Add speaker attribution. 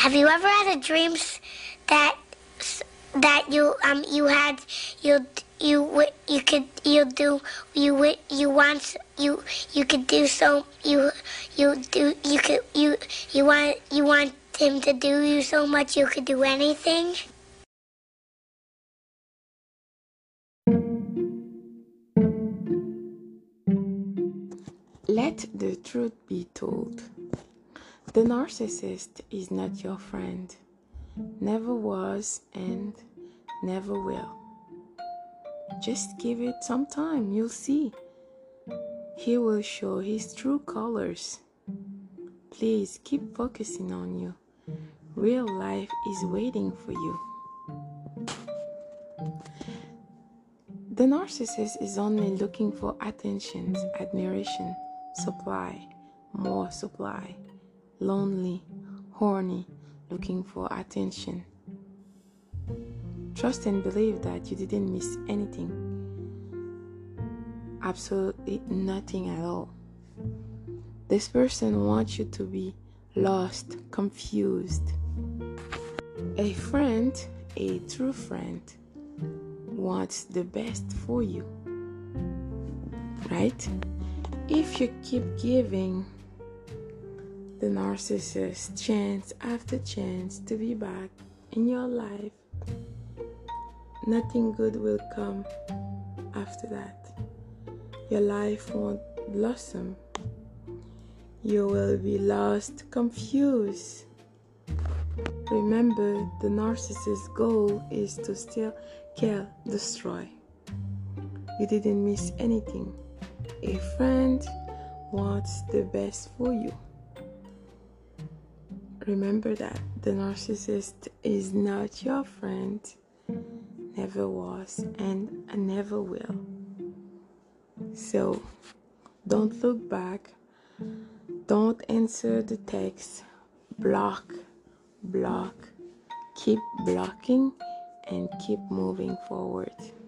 Speaker 1: Have you ever had a dreams that you had you could you do you want you could do so you do you want him to do you so much you could do anything?
Speaker 2: Let the truth be told. The narcissist is not your friend. Never was and never will. Just give it some time, you'll see. He will show his true colors. Please keep focusing on you. Real life is waiting for you. The narcissist is only looking for attention, admiration, supply, more supply. Lonely, horny, looking for attention. Trust and believe that you didn't miss anything. Absolutely nothing at all. This person wants you to be lost, confused. A friend, a true friend, wants the best for you. Right? If you keep giving the narcissist chance after chance to be back in your life, nothing good will come after that. Your life won't blossom. You will be lost, confused. Remember, the narcissist's goal is to steal, kill, destroy. You didn't miss anything. A friend wants the best for you. Remember that the narcissist is not your friend, never was, and never will. So, don't look back. Don't answer the text. Block. Keep blocking and keep moving forward.